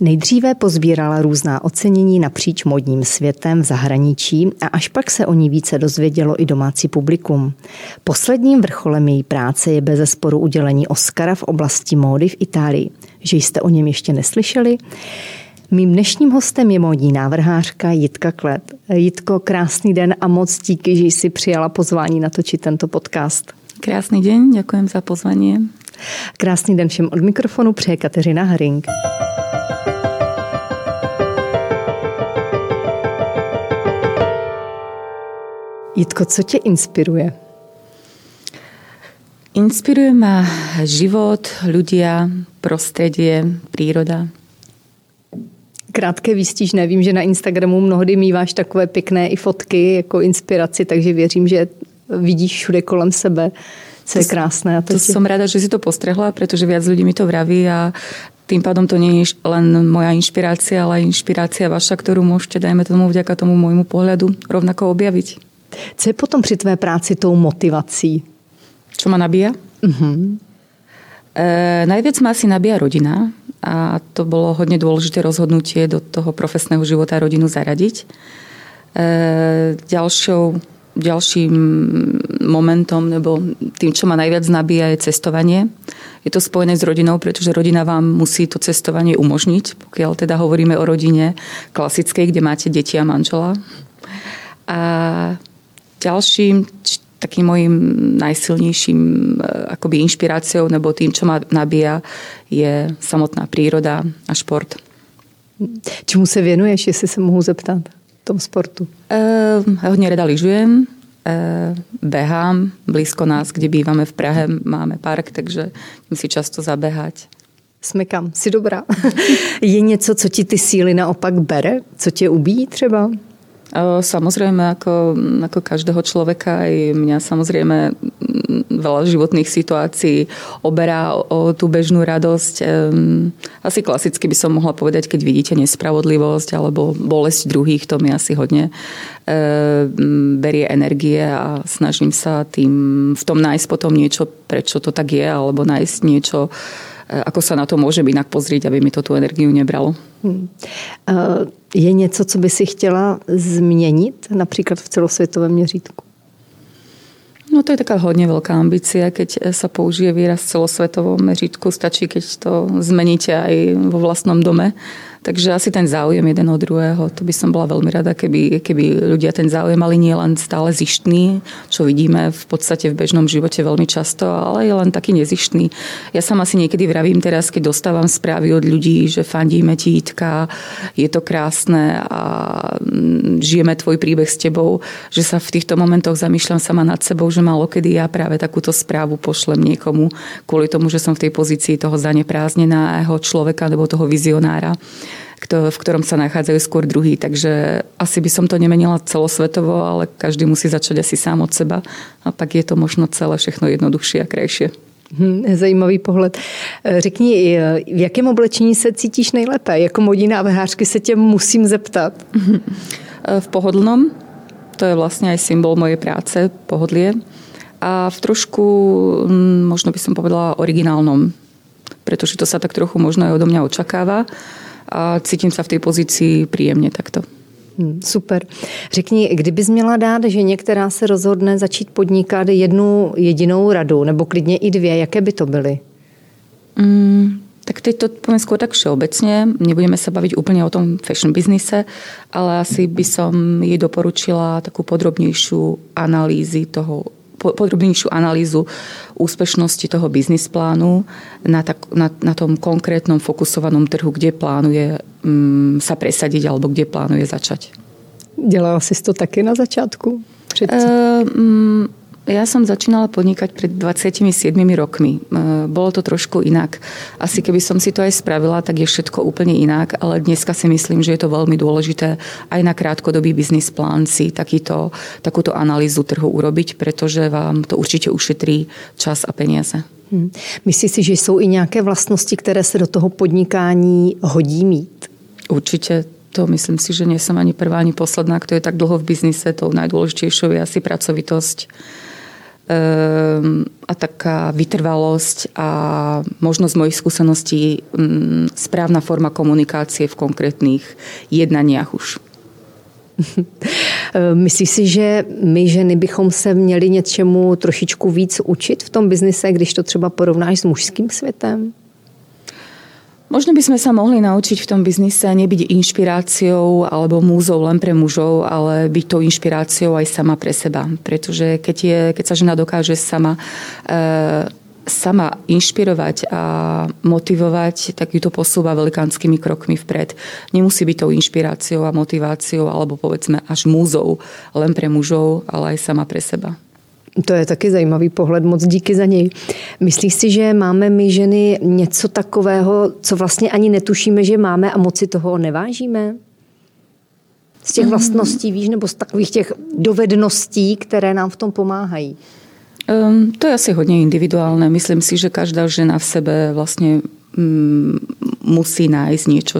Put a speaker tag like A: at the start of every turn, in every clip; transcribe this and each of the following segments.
A: Nejdříve pozbírala různá ocenění napříč módním světem v zahraničí a až pak se o ní více dozvědělo i domácí publikum. Posledním vrcholem její práce je bezesporu udělení Oscara v oblasti módy v Itálii. Že jste o něm ještě neslyšeli? Mým dnešním hostem je módní návrhářka Jitka Klet. Jitko, krásný den a moc díky, že jsi přijala pozvání natočit tento podcast.
B: Krásný den, děkujem za pozvání.
A: Krásný den všem od mikrofonu přeje Kateřina Haring. Jitko, co tě inspiruje?
B: Inspiruje ma život, ľudia, prostredie, príroda.
A: Krátké výstižné. Vím, že na Instagramu mnohdy míváš takové pěkné i fotky jako inspiraci, takže věřím, že vidíš všude kolem sebe, co je krásné. A
B: to som rada, že si to postrehla, pretože viac ľudí mi to vraví a tým pádom to nie je len moja inšpirácia, ale aj inšpirácia vaša, ktorú môžete, dajme tomu, vďaka tomu môjmu pohľadu rovnako objaviť.
A: Co je potom při tvé práci tou motivací?
B: Čo ma nabíja? Najviac ma asi nabíja rodina a to bolo hodne dôležité rozhodnutie do toho profesného života rodinu zaradiť. Ďalším momentom, nebo tým, čo ma najviac nabíja, je cestovanie. Je to spojené s rodinou, pretože rodina vám musí to cestovanie umožniť, pokiaľ teda hovoríme o rodine klasickej, kde máte deti a manžela. A ďalším takým mojím najsilnejším akoby inšpiráciou nebo tým, čo ma nabíja, je samotná príroda a šport.
A: Čemu se věnuješ, jestli se mohu zeptat v tom sportu?
B: Hodne rada lyžujem, behám. Blízko nás, kde bývame v Prahe, máme park, takže musím si často zabehať.
A: Smykám, si dobrá. Je něco, co ti ty síly naopak bere? Co tě ubíjí třeba?
B: Samozrejme, ako každého človeka, aj mňa samozrejme veľa životných situácií oberá o tú bežnú radosť. Asi klasicky by som mohla povedať, keď vidíte nespravodlivosť alebo bolesť druhých, to mi asi hodne berie energie a snažím sa v tom nájsť potom niečo, prečo to tak je, alebo nájsť niečo, ako sa na to môžem inak pozrieť, aby mi to tú energiu nebralo.
A: Je něco, co by si chtěla změnit, například v celosvětovém měřítku?
B: No to je taká hodne veľká ambícia, keď sa použije výraz v celosvetovom meřítku, stačí, keď to zmeníte aj vo vlastnom dome. Takže asi ten záujem jeden od druhého, to by som bola veľmi rada, keby ľudia ten záujem mali nie len stále zištný, čo vidíme v podstate v bežnom živote veľmi často, ale je len taký nezištný. Ja sama si niekedy vravím teraz, keď dostávam správy od ľudí, že fandíme ti, Jitka, je to krásne a žijeme tvoj príbeh s tebou, že sa v týchto momentoch zamýšľam sama nad sebou, že málokedy ja práve takúto správu pošlem niekomu kvôli tomu, že som v tej pozícii toho zaneprázdneného človeka alebo toho vizionára, v ktorom sa nachádzajú skôr druhý. Takže asi by som to nemenila celosvetovo, ale každý musí začať asi sám od seba a pak je to možno celé všechno jednoduchšie a krajšie.
A: Zajímavý pohled. Řekni, v jakém oblečení se cítíš nejlépe? Jako módní návrhářky se tě musím zeptat.
B: V pohodlnom. To je vlastne aj symbol mojej práce, pohodlie. A v trošku, možno by som povedala, originálnom. Pretože to sa tak trochu možno aj odo mňa očakáva. A cítím sa v tej pozícii príjemne takto.
A: Super. Řekni, kdybys měla dát ženě, která se rozhodne začít podnikat jednu jedinou radu, nebo klidně i dvě, jaké by to byly?
B: Tak teď to poviem skôr tak všeobecne. Nebudeme sa baviť úplne o tom fashion biznise, ale asi by som jej doporučila takú podrobnejšiu analýzu úspešnosti toho biznis plánu na tom konkrétnom fokusovanom trhu, kde plánuje sa presadiť alebo kde plánuje začať.
A: Dělala jsi to taky na začátku?
B: Ja som začínala podnikať pred 27 rokmi. Bolo to trošku inak. Asi keby som si to aj spravila, tak je všetko úplne inak, ale dneska si myslím, že je to veľmi dôležité aj na krátkodobý biznis plán si takúto analýzu trhu urobiť, pretože vám to určite ušetrí čas a peniaze.
A: Myslíš si, že jsou i nějaké vlastnosti, které se do toho podnikání hodí mít?
B: Určite. To myslím si, že nie som ani prvá, ani posledná, kto je tak dlho v biznise. Tou najdôležitejšou je asi pracovitosť. a taká vytrvalosť a možnosť mojich skúseností, správna forma komunikácie v konkrétnych jednaniach už.
A: Myslíš si, že my ženy bychom se měli něčemu trošičku víc učit v tom biznise, když to třeba porovnáš s mužským světem?
B: Možno by sme sa mohli naučiť v tom biznise nebyť inšpiráciou alebo múzou len pre mužov, ale byť tou inšpiráciou aj sama pre seba. Pretože keď sa žena dokáže sama inšpirovať a motivovať, tak ju to posúva velikánskymi krokmi vpred. Nemusí byť tou inšpiráciou a motiváciou alebo povedzme až múzou len pre mužov, ale aj sama pre seba.
A: To je taky zajímavý pohled, moc díky za něj. Myslíš si, že máme my ženy něco takového, co vlastně ani netušíme, že máme a moc si toho nevážíme? Z těch vlastností, víš, nebo z takových těch dovedností, které nám v tom pomáhají?
B: To je asi hodně individuálne. Myslím si, že každá žena v sebe vlastne musí nájsť niečo,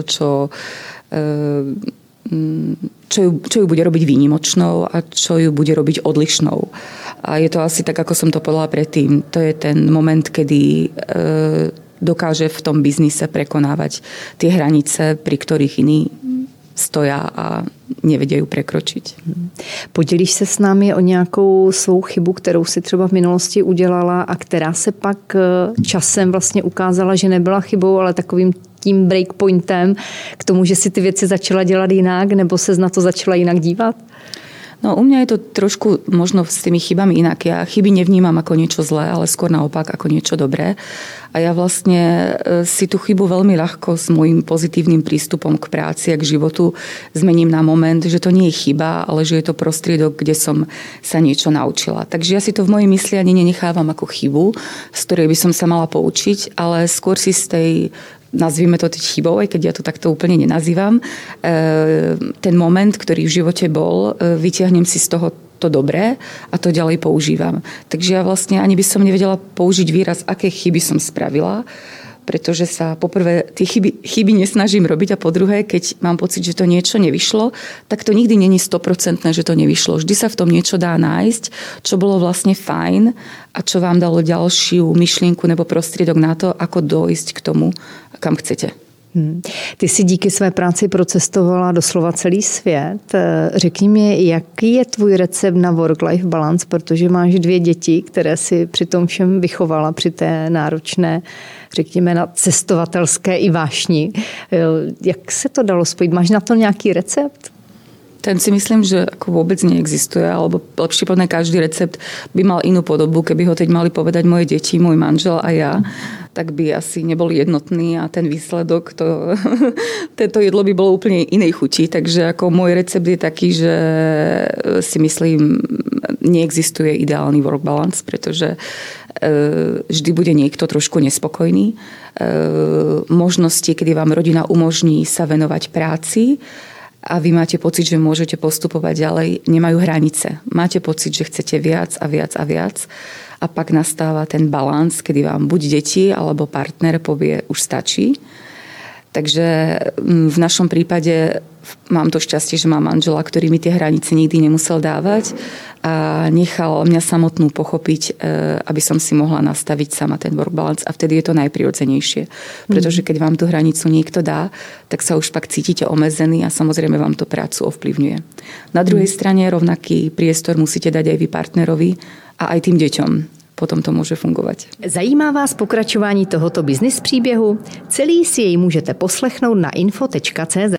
B: čo ju bude robiť výnimočnou a čo ju bude robiť odlišnou. A je to asi tak, ako som to povedala predtým. To je ten moment, kedy dokáže v tom biznise prekonávať tie hranice, pri ktorých iní stoja a nevedia ju prekročiť.
A: Podělíš se s námi o nějakou svou chybu, kterou si třeba v minulosti udělala a která se pak časem vlastně ukázala, že nebyla chybou, ale takovým tím breakpointem k tomu, že si ty věci začala dělat jinak nebo se na to začala jinak dívat?
B: No u mňa je to trošku možno s tými chybami inak. Ja chyby nevnímam ako niečo zlé, ale skôr naopak ako niečo dobré. A ja vlastne si tú chybu veľmi ľahko s môjim pozitívnym prístupom k práci a k životu zmením na moment, že to nie je chyba, ale že je to prostriedok, kde som sa niečo naučila. Takže ja si to v mojej mysli ani nenechávam ako chybu, z ktorej by som sa mala poučiť, ale skôr si z tej, nazvime to teď chybou, aj keď ja to takto úplne nenazývam, ten moment, ktorý v živote bol, vyťahnem si z toho to dobré a to ďalej používam. Takže ja vlastne ani by som nevedela použiť výraz, aké chyby som spravila, pretože sa poprvé tie chyby nesnažím robiť a po druhé, keď mám pocit, že to niečo nevyšlo, tak to nikdy není 100%, že to nevyšlo. Vždy sa v tom niečo dá nájsť, čo bolo vlastne fajn a čo vám dalo ďalšiu myšlienku nebo prostriedok na to, ako dojsť k tomu, kam chcete.
A: Ty si díky své práci procestovala doslova celý svět. Řekni mi, jaký je tvůj recept na work-life balance, protože máš 2 děti, které si při tom všem vychovala, při té náročné, řekněme, na cestovatelské i vášni. Jak se to dalo spojit? Máš na to nějaký recept?
B: Ten si myslím, že ako vôbec neexistuje, alebo lepšie povedané, každý recept by mal inú podobu. Keby ho teď mali povedať moje deti, môj manžel a ja, tak by asi nebol jednotný a ten výsledok, to jedlo by bolo úplne inej chuti. Takže ako môj recept je taký, že si myslím, neexistuje ideálny work balance, pretože vždy bude niekto trošku nespokojný. Možnosti, kedy vám rodina umožní sa venovať práci, a vy máte pocit, že môžete postupovať ďalej, nemajú hranice. Máte pocit, že chcete viac a viac a viac a pak nastáva ten balans, kedy vám buď deti alebo partner povie, už stačí. Takže v našom prípade mám to šťastie, že mám manžela, ktorý mi tie hranice nikdy nemusel dávať a nechal mňa samotnú pochopiť, aby som si mohla nastaviť sama ten work balance a vtedy je to najprirodzenejšie. Pretože keď vám tú hranicu niekto dá, tak sa už pak cítite omezený a samozrejme vám to prácu ovplyvňuje. Na druhej strane rovnaký priestor musíte dať aj vy partnerovi a aj tým deťom. Potom to může fungovat.
A: Zajímá vás pokračování tohoto business příběhu? Celý si jej můžete poslechnout na info.cz.